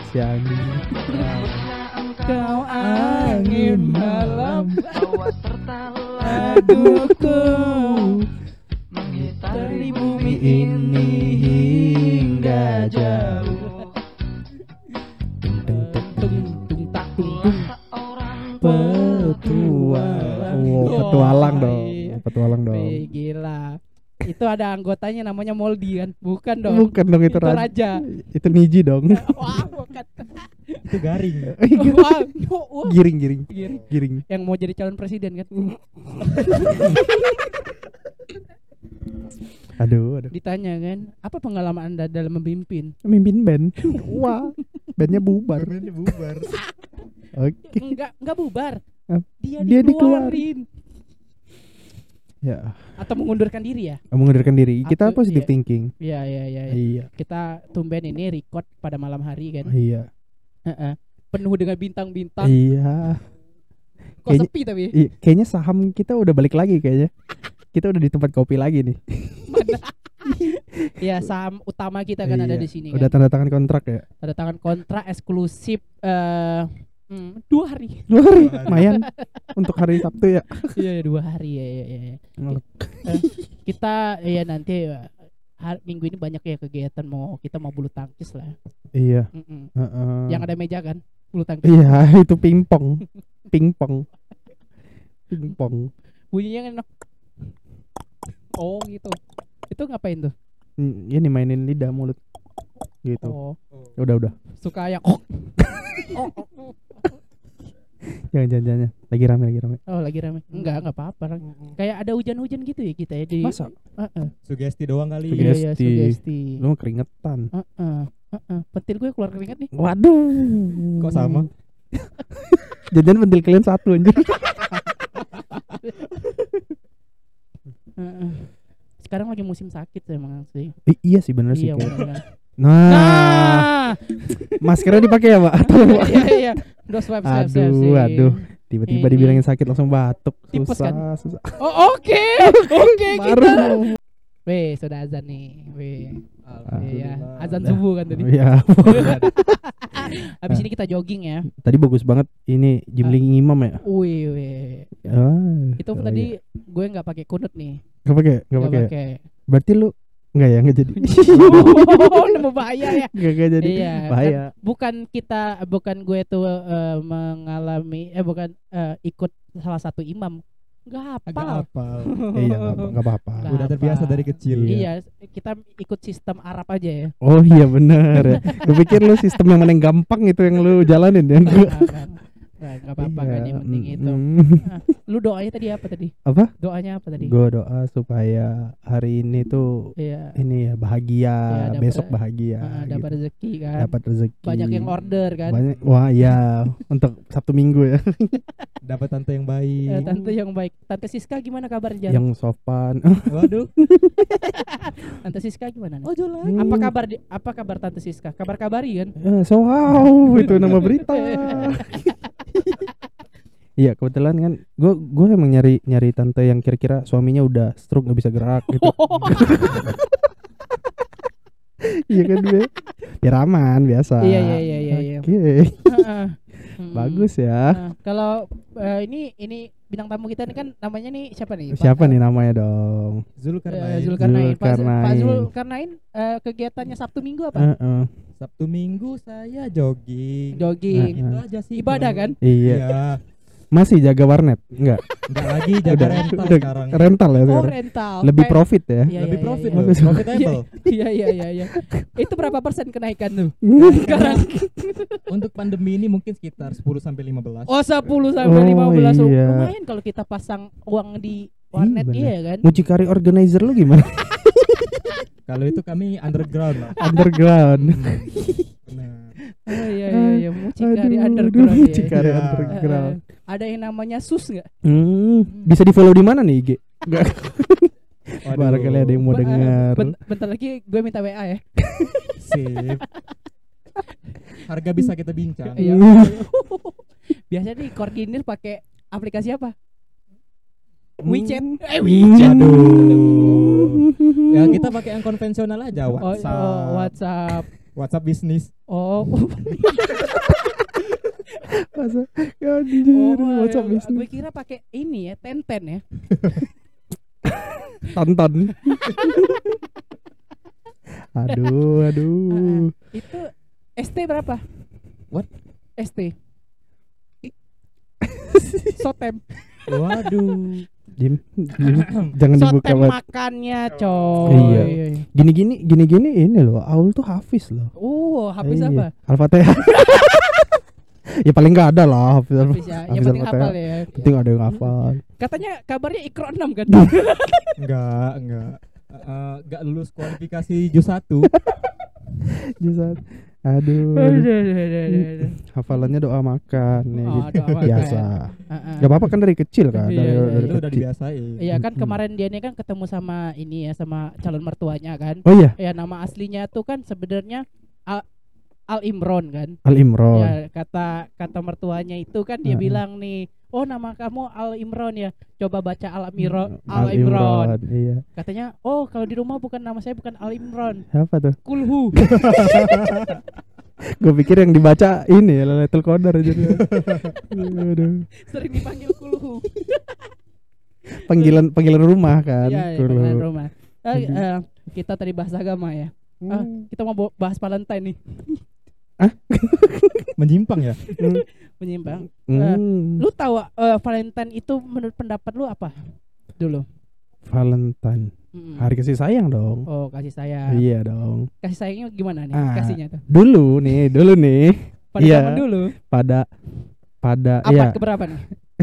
si anjing. Kau angin malam bawa serta laguku mengitari bumi ini hingga jauh. Tung tung tung Tung tak tung petualang. Petualang dong. Iya. Petualang dong. Wih, gila. Itu ada anggotanya namanya Moldi kan? Bukan dong. Bukan dong itu Raja. Itu Niji dong. Wah, bukan. Itu garing. Wah, Giring. Giring. Yang mau jadi calon presiden kan? Aduh. Ditanya kan, apa pengalaman Anda dalam memimpin? Mimpin band. Wah, bandnya bubar. Oke. Enggak bubar. Dia Dia dikeluarin. Ya, Atau mengundurkan diri ya? mengundurkan diri. Kita Atau- positive iya. thinking. Iya. Iya. Kita tumben ini record pada malam hari kan. Iya. Heeh. Penuh dengan bintang-bintang. Iya. Kok Kayaknya- sepi tapi? Kayaknya saham kita udah balik lagi kayaknya. Kita udah di tempat kopi lagi nih. Ya, saham utama kita kan ada Iya. di sini Udah kan. tanda tangan kontrak ya. Tanda tangan kontrak eksklusif 2 hari. Lumayan untuk hari Sabtu ya. Iya, 2 hari ya. Kita ya nanti minggu ini banyak ya kegiatan kita mau bulu tangkis lah. Iya. Mm-mm. Heeh. Yang ada meja kan, bulu tangkis. Iya, itu pingpong. Pingpong. Bunyinya kan oh gitu. Itu ngapain tuh? Ini mainin lidah mulut. Gitu. Oh, Udah. suka yang Jangan. Lagi rame. oh lagi rame. Enggak apa-apa. Kayak ada hujan-hujan gitu ya kita ya di Masa? Sugesti doang kali. Iya, Sugesti. sugesti. Lu keringetan. Pentil gue keluar keringat nih. Waduh. Kok sama? Jangan pentil kalian satu anjir. Sekarang lagi musim sakit emang sih. Iya sih bener sih Iya, kayak. bener. Nah, maskernya dipakai ya, Pak? Iya. Udah swab. Aduh. Tiba-tiba Ini. dibilangin sakit langsung batuk. Tipes Susah. Oh, oke. Baru. Kita. Weh, sudah azan nih. Weh. Iya, azan subuh kan tadi. Iya. Habis ini kita jogging ya. Tadi bagus banget ini Jimling Imam ya. Wih. Itu oh tadi iya. gue nggak pakai kunut nih. Enggak pakai. Berarti lu enggak jadi. Nemu bahaya ya. Enggak jadi. Iya. Bahaya. Bukan gue tuh mengalami ikut salah satu imam. Enggak Agak hafal. apal. Iya, enggak apa-apa. Nggak Udah terbiasa apa. dari kecil. Iya, kita ikut sistem Arab aja ya. Oh iya benar ya. Gue pikir lu sistem yang mana yang gampang itu yang lu jalanin ya. Enggak apa-apa kan yang penting itu. Lu doanya tadi apa tadi? Apa? Doanya apa tadi? Gue doa supaya hari ini tuh Iya. ini ya bahagia, Iya, besok bahagia. Dapat gitu. rezeki kan. Dapat rezeki. Banyak yang order kan. Banyak. Wah iya untuk Sabtu Minggu ya. Dapat tante yang baik. Tante yang baik. Tante Siska gimana kabarnya? Yang sopan. Waduh. Tante Siska gimana? Oh jalan. Apa kabar Tante Siska? Kabar-kabari kan? So wow itu nama berita. Iya kebetulan kan gue emang nyari tante yang kira-kira suaminya udah stroke nggak bisa gerak gitu. Iya kan gue ya raman biasa. Iya. Oke. Bagus ya. Kalau ini bintang tamu kita ini kan namanya nih siapa nih? Siapa nih namanya dong? Zulkarnain. Zulkarnain. Pak Zulkarnain. Zulkarnain kegiatannya Sabtu Minggu apa? Sabtu Minggu saya jogging. Jogging. Itu aja sih. Ibadah kan? Iya. Iya. Masih jaga warnet? Enggak. Enggak lagi jaga rental sekarang. Rental ya Oh, sekarang. rental. Lebih profit ya. Iya, Lebih iya, profit iya. loh. Bagus. Profitable. Iya. Itu berapa persen kenaikan tuh? Sekarang. Untuk pandemi ini mungkin sekitar 10 sampai 15. Oh, 10 sampai 15. iya. Lumayan kalau kita pasang uang di warnet bener. iya kan? Mucikari organizer lu gimana? Kalau itu kami underground lah. Underground. Benar. Oh iya, mucikari Aduh, underground ya. Mucikari Iya. underground. Ada yang namanya sus enggak? Bisa di follow di mana nih IG? Enggak. Waduh. Barangkali ada yang mau dengar. Bentar lagi gue minta WA ya. Sip. Harga bisa kita bincang. Iya. Biasanya nih koordinir pakai aplikasi apa? WeChat. WeChat. Aduh. Ya kita pakai yang konvensional aja, WhatsApp. WhatsApp. WhatsApp bisnis. Oh. Masa anjir, WhatsApp Gue bisnis. kira pakai ini ya, Tenten ya. Tonton. Aduh. Itu ST berapa? What? ST. Sotem. Waduh. Jim, jangan dibuka Sotem banget. makannya, coy. Iya. Gini ini loh. Aul tuh Hafiz loh. Habis Iya. apa? Al-Fatihah. Ya paling enggak ada lah Hafiz. Habis ya. Yang Hafiz penting Al-Fatihah. hafal ya. Penting ada yang hafal. Katanya kabarnya Iqra 6 kan? Enggak. Enggak lulus kualifikasi juz 1. Jusat. Aduh. Hafalannya doa makan ya Oh, gitu. doa makan. Biasa. Heeh. Gak apa-apa kan dari kecil kan. Iya, iya, Dari Itu udah kecil. dibiasain. Iya kan Mm-mm. kemarin dia ini kan ketemu sama ini ya, sama calon mertuanya kan. Oh iya, Ya nama aslinya tuh kan sebenarnya Al Imron kan. Al Imron. Ya kata mertuanya itu kan dia bilang nih, oh nama kamu Al Imron ya. Coba baca Al Imron. Al Imron. Iya. Katanya, oh kalau di rumah bukan nama saya bukan Al Imron. Apa tuh? Kulhu. Gue pikir yang dibaca ini ya Lailatul Qadar aja. Aduh. Sering dipanggil Kulhu. Panggilan rumah kan. Iya, Dulu. panggilan rumah. Kita tadi bahas agama ya. Kita mau bahas Valentine nih. Menyimpang ya? Menyimpang. Hmm. Lu tahu Valentine itu menurut pendapat lu apa? Dulu. Valentine. Mm-mm. Hari kasih sayang dong. Oh, kasih sayang. Iya dong. Kasih sayangnya gimana nih? Ah. Kasihnya tuh. Dulu nih. Pada Iya. zaman dulu. Pada Abad iya. keberapa nih?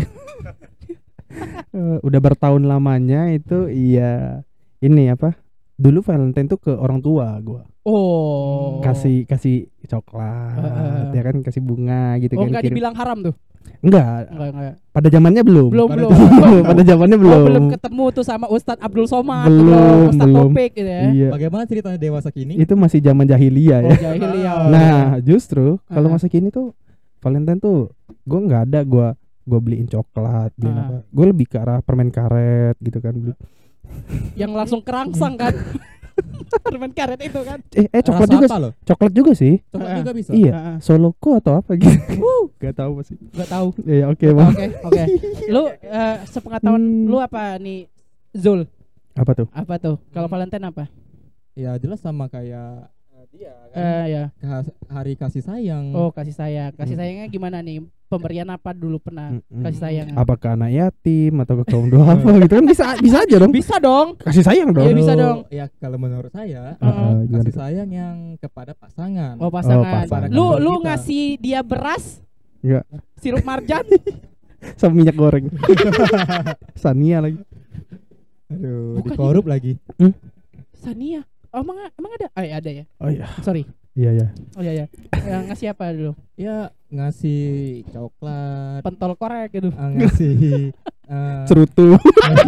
Udah bertahun lamanya itu iya. Ini apa? Dulu Valentine tuh ke orang tua gua. Oh. Kasih coklat, ya kan kasih bunga gitu Oh, kan. enggak kirim. dibilang haram tuh. Enggak. Enggak. Pada zamannya belum. Belum. Pada zamannya belum. Oh, belum ketemu tuh sama Ustadz Abdul Somad, Belum, Ustadz belum. Topik gitu ya. Iya. Bagaimana ceritanya dewasa kini? Itu masih zaman jahiliyah Oh, ya. jahiliyah. Nah, justru kalau Ah. masa kini tuh Valentine tuh gua nggak ada gua beliin coklat, beliin Ah. apa. Gue lebih ke arah permen karet gitu kan. Yang langsung kerangsang kan. Permen karet itu kan. Coklat Rasa juga. apa loh? Coklat juga sih. Coklat Ah. juga bisa. Iya. Heeh. Soloko atau apa gitu. Gak tahu sih. Enggak tahu. Ya oke, Bang. Oke. Lu sepengetahuan lu apa nih, Zul? Apa tuh? Apa tuh? Kalau Valentine apa? Ya jelas sama kayak dia kan. Ya. Hari kasih sayang. Oh, kasih sayang. Kasih sayangnya gimana nih? Pemberian apa dulu pernah kasih sayang? Apakah anak yatim atau ke kaum duafa gitu kan bisa aja dong. Bisa dong. Kasih sayang dong. Iya, bisa Kalau- dong. Ya kalau menurut saya Gimana kasih tuh? sayang yang kepada pasangan. Oh, pasangan. pasangan. Lu Kita. ngasih dia beras, Enggak. sirup marjan. Sama minyak goreng. Sania lagi. Aduh, Bukan dikorup lagi. Sania. Oh, emang ada? Ada ya. Oh iya. Sorry. Iya. Oh iya. Ngasih apa dulu? Ya ngasih coklat, Pentol korek gitu. ngasih Cerutu.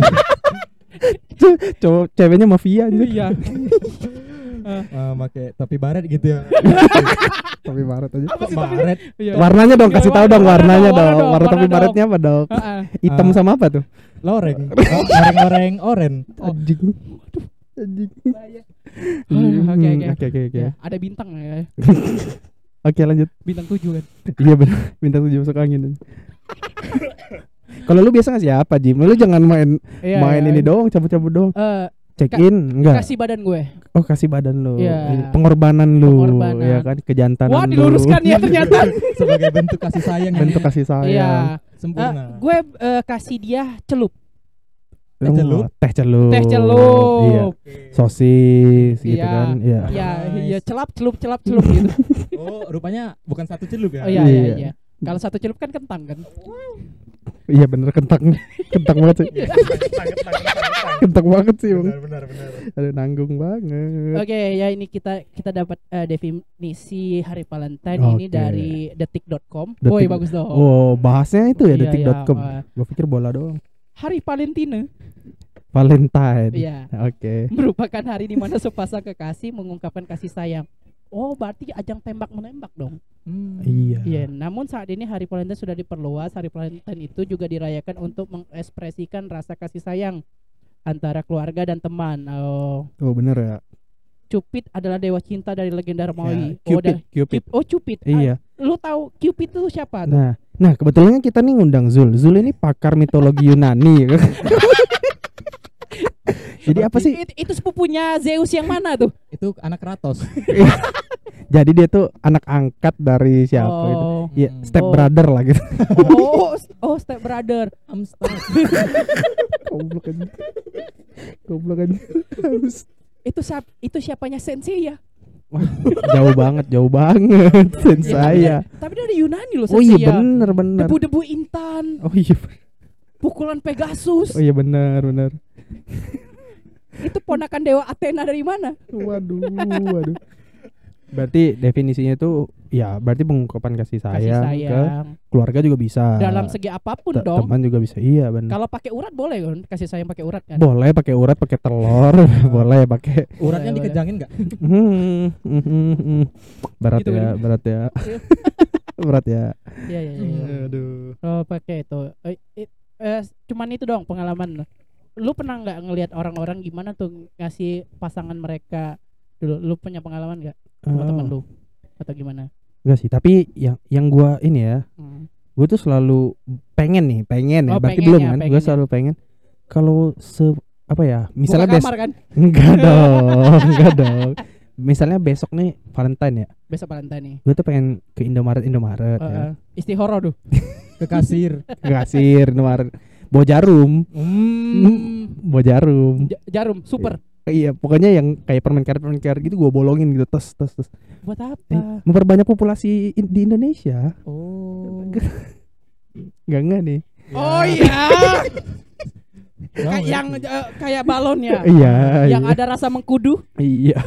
Cowok ceweknya mafia anjir. Iya. pakai topi baret gitu ya. Tapi baret aja. Apa sih Kok tapi? baret? Iya. Warnanya dong, kasih tahu dong warnanya dong. Warna warna topi dong. baretnya apa dong? Heeh. Hitam sama apa tuh? Loreng. Goreng-goreng oren. Anjing. Anjing. Oke. Ya, ada bintang ya. Oke, lanjut. Bintang 7 kan. Iya benar. Bintang 7 masuk angin. Kalau lu biasa ngasih apa, Jim? Lu jangan main Iya, ini doang, cabut-cabut doang. Check in enggak? Kasih badan gue. Oh, kasih badan lu. Iya. Pengorbanan lu, Pengorbanan. ya kan? Kejantanan Wah, lu. diluruskan ya ternyata. Sebagai bentuk kasih sayang yang Bentuk kasih sayang. Iya. sempurna. Gue kasih dia celup. Teh celup? Teh celup. Teh celup. Iya. Sosis gitu Iya. kan. Iya. Iya, Nice. iya celap celup gitu. Oh, rupanya bukan satu celup ya? Oh iya. Iya. Kalau satu celup kan kentang kan. Iya bener kentang. Kentang banget sih. Kentang banget sih, Bang. Benar. Ada nanggung banget. Oke, ya ini kita dapat definisi Hari Valentine ini Oke. dari detik.com. Detik. Woi, bagus dong. Oh, bahasnya itu ya Iya, detik.com. iya. Gua pikir bola doang. Hari Valentine. Valentine. Iya. Oke. Merupakan hari di mana sepasang kekasih mengungkapkan kasih sayang. Oh, berarti ajang tembak menembak dong. Iya. Iya, namun saat ini Hari Valentine sudah diperluas. Hari Valentine itu juga dirayakan untuk mengekspresikan rasa kasih sayang antara keluarga dan teman. Oh, Oh, bener ya. Cupid adalah dewa cinta dari legenda Romawi. Ya, Cupid, Cupid. Cupid. Iya. Lu tahu Cupid itu siapa? Nah kebetulan kita nih ngundang Zul. Zul ini pakar mitologi Yunani. Jadi apa sih? Itu sepupunya Zeus yang mana tuh? Itu anak Kratos. Jadi dia tuh anak angkat dari siapa itu? Iya, step brother lah gitu. Step brother. Goblok aja. Itu siapanya Sensei ya? Wah, jauh banget Sensei ya. Tapi dari Yunani loh Oh Sensei. iya bener. Debu-debu intan. Oh iya. Pukulan Pegasus. Oh iya benar. Itu ponakan dewa Athena dari mana? Waduh. Berarti definisinya itu ya berarti pengungkapan kasih sayang ke keluarga juga bisa. Dalam segi apapun dong. Teman juga bisa. Iya benar. Kalau pakai urat boleh kan? Kasih sayang pakai urat kan? Boleh pakai urat, pakai telur, boleh pakai. Uratnya Boleh. dikejangin enggak? Berat Gitu, ya, kan? berat ya. Berat ya. Iya. Aduh. Oh, pakai itu. Cuman itu dong pengalaman. Lu pernah nggak ngelihat orang-orang gimana tuh ngasih pasangan mereka dulu? Lu punya pengalaman nggak sama teman lu atau gimana? Enggak sih, tapi yang gua ini ya, gue tuh selalu pengen ya. Berarti belum kan? Gue selalu pengen kalau apa ya? Misalnya buka kamar kan? Enggak dong. Misalnya besok nih Valentine ya. Besok Valentine nih. Gue tuh pengen ke Indomaret ya. Istihoro tuh. Ke kasir. Indomaret. Bawa jarum. Bawa jarum. Jarum super. Iya, pokoknya yang kayak permen karet gitu gue bolongin gitu, tes. Buat apa? Memperbanyak populasi di Indonesia. Oh. Enggak nih. Oh iya. Kayak balon ya. Iya. Yang ada rasa mengkudu. Iya.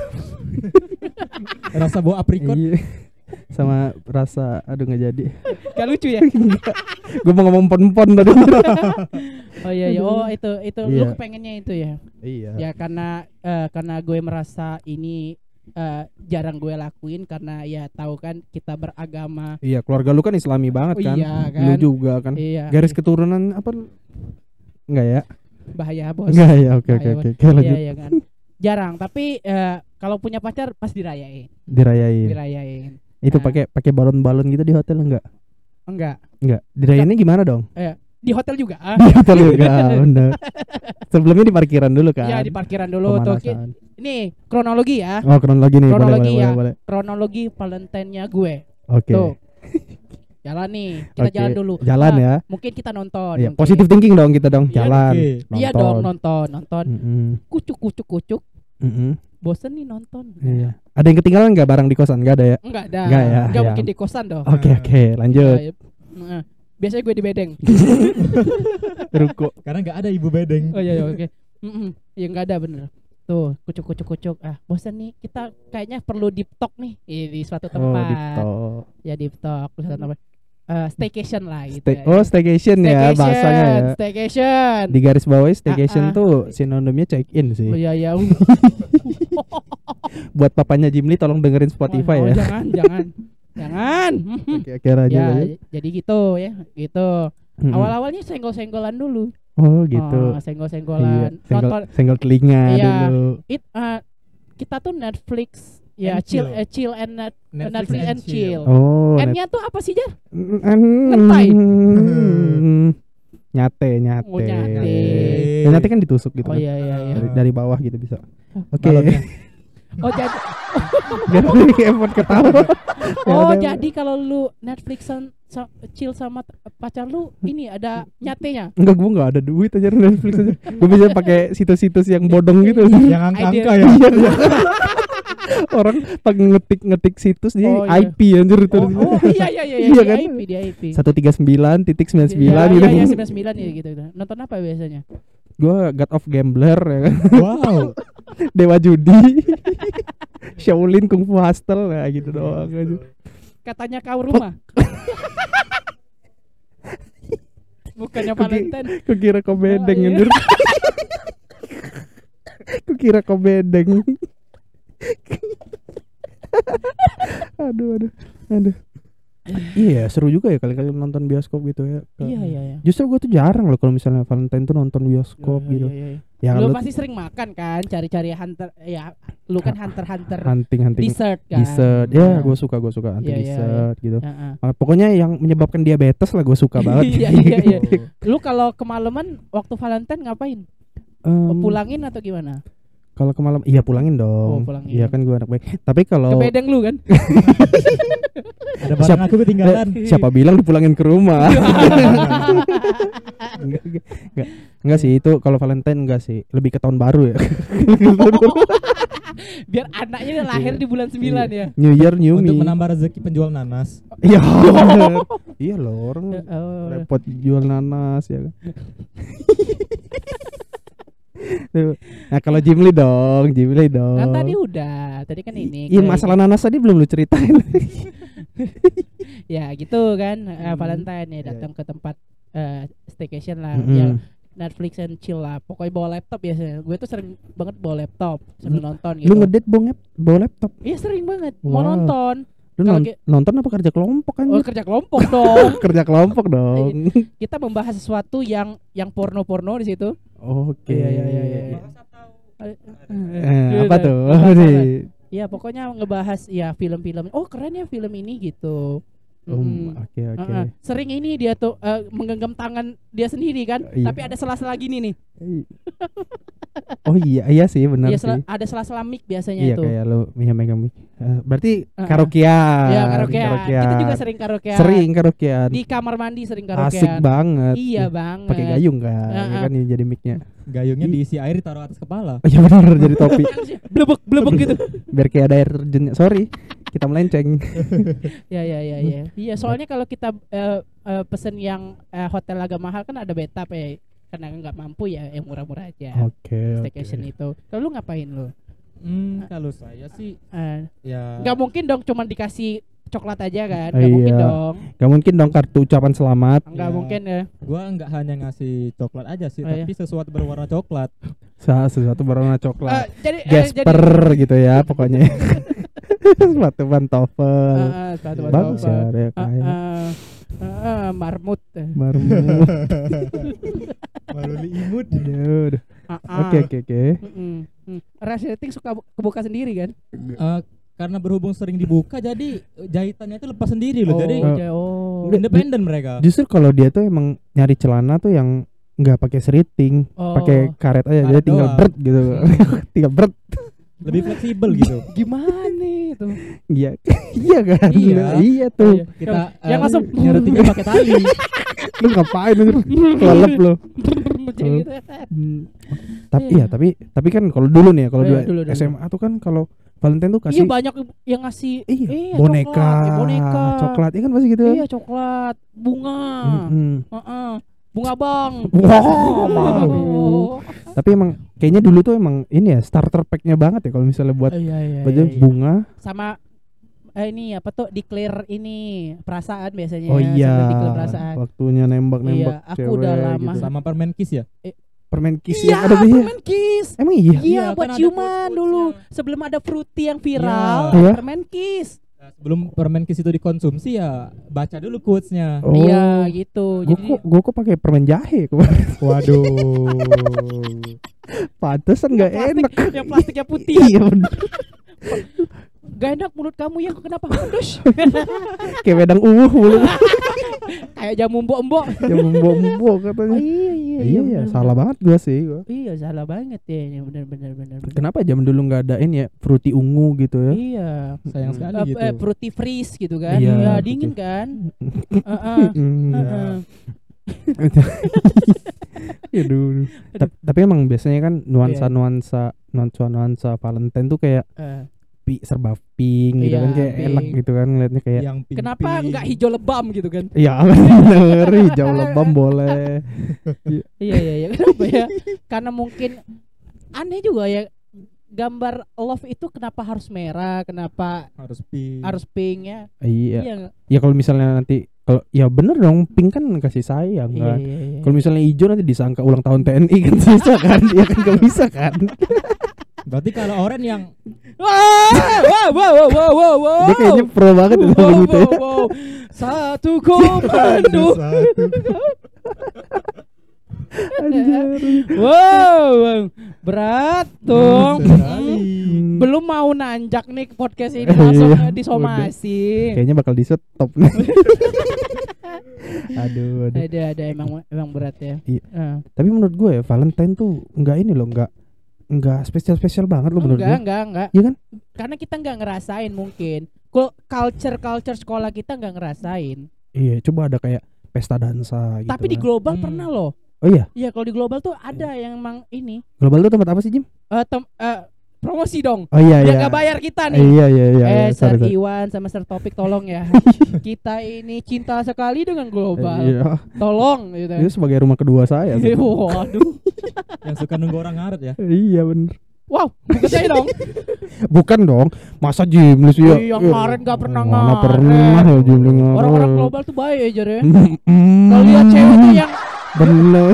Rasa buah aprikot. Iya. Sama rasa aduh nggak jadi. Gak lucu ya? Gue mau ngomong pon tadi. Oh iya. Oh itu Iya. lu pengennya itu ya. Iya. Ya karena gue merasa ini jarang gue lakuin karena ya tahu kan kita beragama. Iya, keluarga lu kan Islami banget kan? Iya kan. Lu juga kan. Iya. Garis keturunan apa? Enggak ya? Bahaya bos. Enggak ya. Oke. Lanjut. Iya kan. Jarang tapi kalau punya pacar pas dirayain. Dirayain. Itu Nah. pakai balon-balon gitu di hotel enggak? Enggak. Dirayainnya gimana dong? Di hotel juga. Di hotel juga, bener. Sebelumnya di parkiran dulu kan? Iya di parkiran dulu tuh. Pemanasan. Ini kronologi ya. Oh, kronologi nih. Kronologi ya. Boleh. Kronologi Valentine-nya gue. Oke. Tuh. Jalan nih, kita Oke, jalan dulu. jalan ya. Mungkin kita nonton. Iya, mungkin. positive thinking dong kita dong, Iya, jalan. oke. Iya dong, nonton. Kucuk. Mm-mm. Bosen nih nonton. Iya. Ada yang ketinggalan nggak barang di kosan? Nggak ada ya? Enggak ada. Nggak ya, Enggak ya. mungkin di kosan dong. Oke, lanjut. Biasanya gue di bedeng. Ruko. Karena enggak ada ibu bedeng. Oh iya oke. Ya enggak ada bener. Tuh, kucuk. Bosan nih. Kita kayaknya perlu deep talk nih di suatu Oh, tempat. deep talk. Ya deep talk di suatu tempat. Staycation lah gitu. Ya. Staycation ya bahasanya ya. Staycation. Di garis bawah staycation Ah. tuh sinonimnya check in sih. Oh iya. Buat papanya Jimli tolong dengerin Spotify ya. Jangan. Oke, lanjut. Ya, jadi gitu ya. Gitu. Awal-awalnya senggol-senggolan dulu. Oh, gitu. Senggol-senggolan. Iya, senggol telinga Iya. dulu. Kita tuh Netflix ya And chill chill. Netflix and chill. Oh, N-nya tuh apa sih, Jar? ngetai. Nyate. Oh, nyate. Ya, nyate kan ditusuk gitu Oh kan. iya. Dari bawah gitu bisa. Oke. Balonnya. Oh jadi Jadi effort ketawa. Oh Ya, jadi kalau lu Netflixan chill sama pacar lu ini ada nyatenya. Enggak, gue enggak ada duit aja Netflix aja. Gue bisa pakai situs-situs yang bodong gitu. Yang angka-angka ya. Orang pakai ngetik situs dia Oh, iya. IP anjir itu. Oh iya Iya kan? di IP. 139.99 gitu. Iya 99 ya gitu. Nonton apa biasanya? Gue God of Gambler ya kan. Wow. Dewa Judi. Shaolin Kung Fu Hustle ya gitu doang aja. Katanya kau rumah. Bukannya Valentine. Kukira kau bedeng Oh, iya. anjir. Kukira kau bedeng. Aduh. Iya, seru juga ya kali-kali nonton bioskop gitu ya. Iya. Justru gue tuh jarang loh kalau misalnya Valentine tuh nonton bioskop gitu. Iya. Ya Lu lu pasti sering makan kan, cari-cari hunter ya Lu kan hunter hunting dessert kan. dessert ya, gue suka hunting dessert gitu. Pokoknya yang menyebabkan diabetes lah gue suka banget. Iya. Lu kalau kemalaman waktu Valentine ngapain? Pulangin atau gimana? Kalau ke malam, iya pulangin dong. Iya kan gue anak baik. Tapi kalau ke Bedeng lu kan? Ada barang aku ketinggalan. Siapa bilang dipulangin ke rumah? Enggak sih, itu kalau Valentine enggak sih. Lebih ke tahun baru ya. Biar anaknya lahir di bulan 9 ya. New Year New Me. Untuk menambah rezeki penjual nanas. Iya. Iya loh, orang repot jual nanas ya kan. Nah kalau Jimli dong. Kan tadi udah, tadi kan ini. Iya masalah nanas tadi belum lu ceritain. Ya gitu kan, Valentine ya datang ke tempat staycation lah, ya Netflix and chill lah. Pokoknya bawa laptop biasanya. Gue tuh sering banget bawa laptop sambil nonton gitu. Lu ngedate bawa laptop? Iya sering banget. Mau nonton. Lu nonton apa kerja kelompok kan? Oh kerja kelompok dong. Kerja kelompok dong. Kita membahas sesuatu yang porno di situ. Oke. Iya. Apa tuh? Ya pokoknya ngebahas ya film-film. Oh keren ya film ini gitu. Oke. Sering ini dia tuh menggenggam tangan dia sendiri kan, tapi ada sela-sela gini nih. Oh iya sih benar sih. Ada sela-sela mic biasanya itu. Iya kayak lu megang mic. Berarti karaokean. Iya karaokean. Kita juga sering karaokean. Di kamar mandi sering karaokean. Asik banget. Iya banget. Pakai gayung kan, ya kan ini jadi micnya. Gayungnya diisi air ditaruh atas kepala. Iya benar jadi topi. Blebek gitu. Biar kayak ada air terjunnya. Sorry, kita melenceng. Iya. Iya soalnya kalau kita pesen yang hotel agak mahal kan ada bathtub ya. Karena nggak mampu ya yang murah-murah aja. Staycation itu. Kalau lu ngapain lu? Kalau saya sih ya nggak mungkin dong cuma dikasih coklat aja kan? Nggak mungkin dong. Nggak mungkin dong kartu ucapan selamat. Nggak mungkin ya. Gua nggak hanya ngasih coklat aja sih, tapi sesuatu berwarna coklat. Sesuatu berwarna coklat. Jasper gitu ya pokoknya. Sepatu pantofel. Bagus ya kayak. Marmut. Maruli imut. Oke. Resleting suka kebuka sendiri kan? Karena berhubung sering dibuka jadi jahitannya itu lepas sendiri loh. Jadi independen mereka. Justru kalau dia tuh emang nyari celana tuh yang nggak pakai seriting, pakai karet aja, jadi tinggal bret gitu. Tinggal bret. Lebih fleksibel gitu. Gimana itu? Iya kan? Iya tuh. Kita yang langsung nyeretingnya pakai tali. Lu ngapain lu? Kelelep lu. Tapi kan kalau dulu nih ya, kalau dulu SMA tuh kan kalau Valentine tuh kasih. Iya banyak yang ngasih boneka, coklat, iya kan pasti gitu. Iya coklat, bunga, bunga bang. Wow. Tapi emang kayaknya dulu tuh emang ini ya starter pack-nya banget ya kalau misalnya buat bunga. Sama ini apa tuh declare ini perasaan biasanya. Oh iya. Declare perasaan. Waktunya nembak iya, aku cewek. Udah lama. Gitu. Sama permen kiss ya. Permen kiss iya, ada dia. Permen kiss. Emang iya? Iya, buat ciuman dulu. Sebelum ada fruity yang viral, permen kiss. Nah, sebelum permen kiss itu dikonsumsi ya baca dulu quotes-nya. Oh. Iya, gitu. Gue kok pakai permen jahe kemarin. Waduh. Pantesan enggak enak. Yang plastiknya putih. Iya bener. Gak enak mulut kamu yang kenapa pedes? Kayak wedang mulut. Kayak jamu embok-embok. Jamu embok-embok katanya. Iya, salah banget gua sih. Iya, salah banget ya. Benar. Kenapa zaman dulu enggak adain ya fruity ungu gitu ya? Iya. Sayang sekali gitu. Fruity freeze gitu kan. Iya, ya dingin kan. Ya dulu. Tapi emang biasanya kan nuansa Valentine tuh kayak serba pink gitu kan, kayak enak gitu kan ngeliatnya kayak. Kenapa enggak hijau lebam gitu kan? Iya bener, hijau lebam boleh. Iya kenapa ya? Karena mungkin aneh juga ya, gambar love itu kenapa harus merah, kenapa harus pink ya? Iya. Ya kalau misalnya nanti kalau ya bener dong, pink kan kasih sayang kan. Iya. Kalau misalnya hijau nanti disangka ulang tahun TNI kan susah kan? Dia kan gak bisa kan. Berarti kalau oranye yang wow. Dia kayaknya pro banget gitu. Satu komando. Wow, berat dong. Belum mau nanjak nih podcast ini langsung disomasi. Kayaknya bakal di stop. Aduh. Ada emang berat ya. Iya. Tapi menurut gue ya Valentine tuh enggak ini loh, enggak spesial banget loh menurut gue. Enggak. Iya kan? Karena kita enggak ngerasain mungkin. Culture sekolah kita enggak ngerasain. Iya, coba ada kayak pesta dansa gitu. Tapi di global pernah loh. Oh iya? Iya, kalau di global tuh ada yang emang ini. Global tuh tempat apa sih, Jim? Promosi dong. Oh iya. Dia nggak bayar kita nih. Iya. Sir Iwan sama Sir Topik tolong ya. Kita ini cinta sekali dengan global. Iya. Tolong gitu. Itu sebagai rumah kedua saya. Waduh. Yang suka nunggu orang ngaret ya. Iya bener. Wow, bukan saya dong. Bukan dong. Masa Jim lu sih ya? Yang ngaret gak pernah ngaret. Mana pernah ya Jim ngaret. Orang-orang global tuh baik aja ya. Kalau lihat cewek tuh yang bener.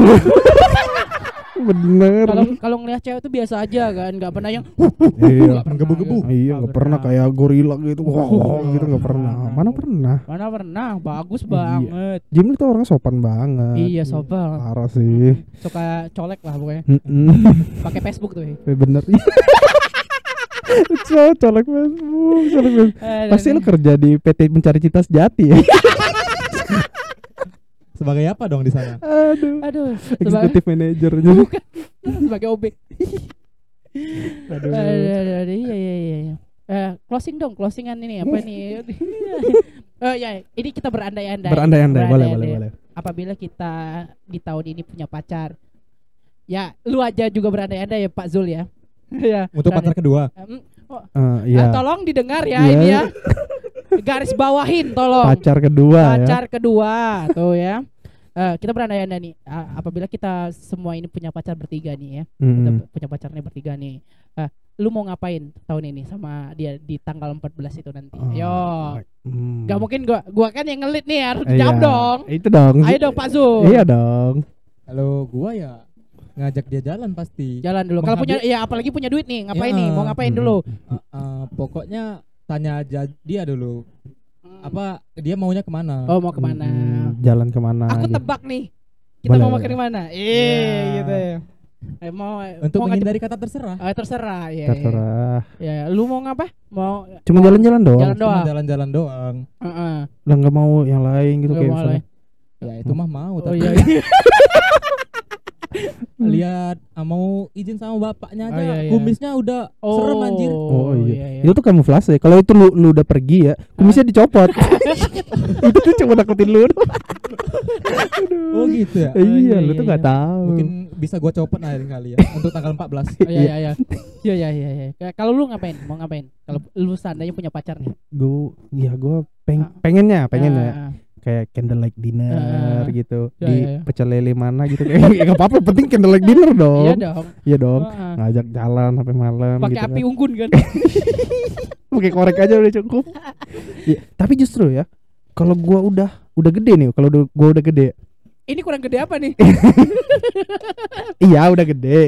Kalau ngelihat cewek tuh biasa aja kan, nggak pernah yang iya, gebu-gebu. Iya, nggak pernah kayak gorila gitu. Gitu nggak pernah. Mana pernah? Bagus banget. Jim itu orang sopan banget. Iya, sopan. Parah sih. Suka colek lah pokoknya. Pakai Facebook tuh. Bener. Colek Facebook. Pasti lu kerja di PT Mencari Cita Sejati ya. Sebagai apa dong di sana? Aduh. Executive Manager. Bukan. Sebagai OB. Aduh. Iya. Closingan ini apa nih? Ya, ini kita berandai-andai. Boleh. Apabila kita di tahun ini punya pacar. Ya, lu aja juga berandai-andai ya Pak Zul ya. Ya. Untuk pacar kedua. Iya. Tolong didengar ya ini ya. Garis bawahin tolong. Pacar kedua tuh ya. Kita berandai-andai nih, apabila kita semua ini punya pacar bertiga nih ya. Kita punya pacarnya bertiga nih. Lu mau ngapain tahun ini sama dia di tanggal 14 itu nanti? Ayo. Gak mungkin gua kan yang ngelit nih, harus jawab dong. Itu dong. Ayo dong Pak Zul. Iya dong. Kalau gua ya ngajak dia jalan pasti. Jalan dulu. Kalau punya ya apalagi punya duit nih, ngapain nih? Mau ngapain dulu? Pokoknya tanya aja dia dulu. Apa dia maunya kemana? Oh, mau kemana? Jalan kemana? Aku tebak nih. Kita mau makan di mana? Gitu ya. Mau untuk menghindari kata terserah. Terserah ya. Terserah. Ya, lu mau ngapa? Mau cuma jalan-jalan doang. Jalan-jalan doang. Lah enggak mau yang lain gitu kayak misalnya. Ya itu mah mau tapi. Oh iya. Lihat mau izin sama bapaknya aja. Iya. Kumisnya udah serem anjir. Oh iya. Itu tuh kamuflase. Kalau itu lu udah pergi ya, kumisnya dicopot. Itu tuh cuma nakutin lu. Oh gitu ya. Iya, lu tuh enggak tahu. Mungkin bisa gua copot lain kali ya untuk tanggal 14. Iya. Kalau lu ngapain? Mau ngapain? Kalau lu seandainya punya pacar nih. Gua pengennya kayak candlelight dinner gitu di pecel lele mana gitu kayak enggak apa-apa, penting candlelight dinner dong. Iya dong. Ngajak jalan sampai malam pakai gitu api kan. unggun kan. Pakai korek aja udah cukup. Ya, tapi justru ya kalau gua udah gede nih, kalau gua udah gede. Ini kurang gede apa nih? Iya, udah gede.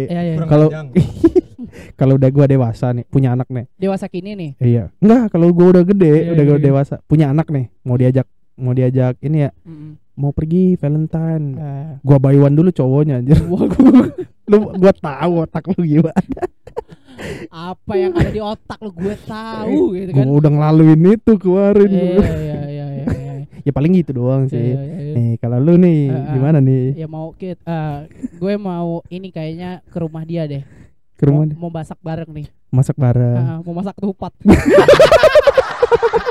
Kalau udah gua dewasa nih, punya anak nih. Dewasa kini nih. Iya. Enggak, kalau gua udah gede, gua dewasa, punya anak nih, mau diajak ini ya. Mau pergi Valentine. Gua buy one dulu cowoknya anjir. Gua tahu otak lu gimana. Apa yang ada di otak lu gue tahu gitu kan. Gua udah ngelaluin itu kemarin. Iya. Ya paling gitu doang sih. Nih, kalau lu nih gimana nih? Ya mau gue mau ini kayaknya ke rumah dia deh. Ke rumah mau masak bareng nih. Masak bareng. Mau masak ketupat.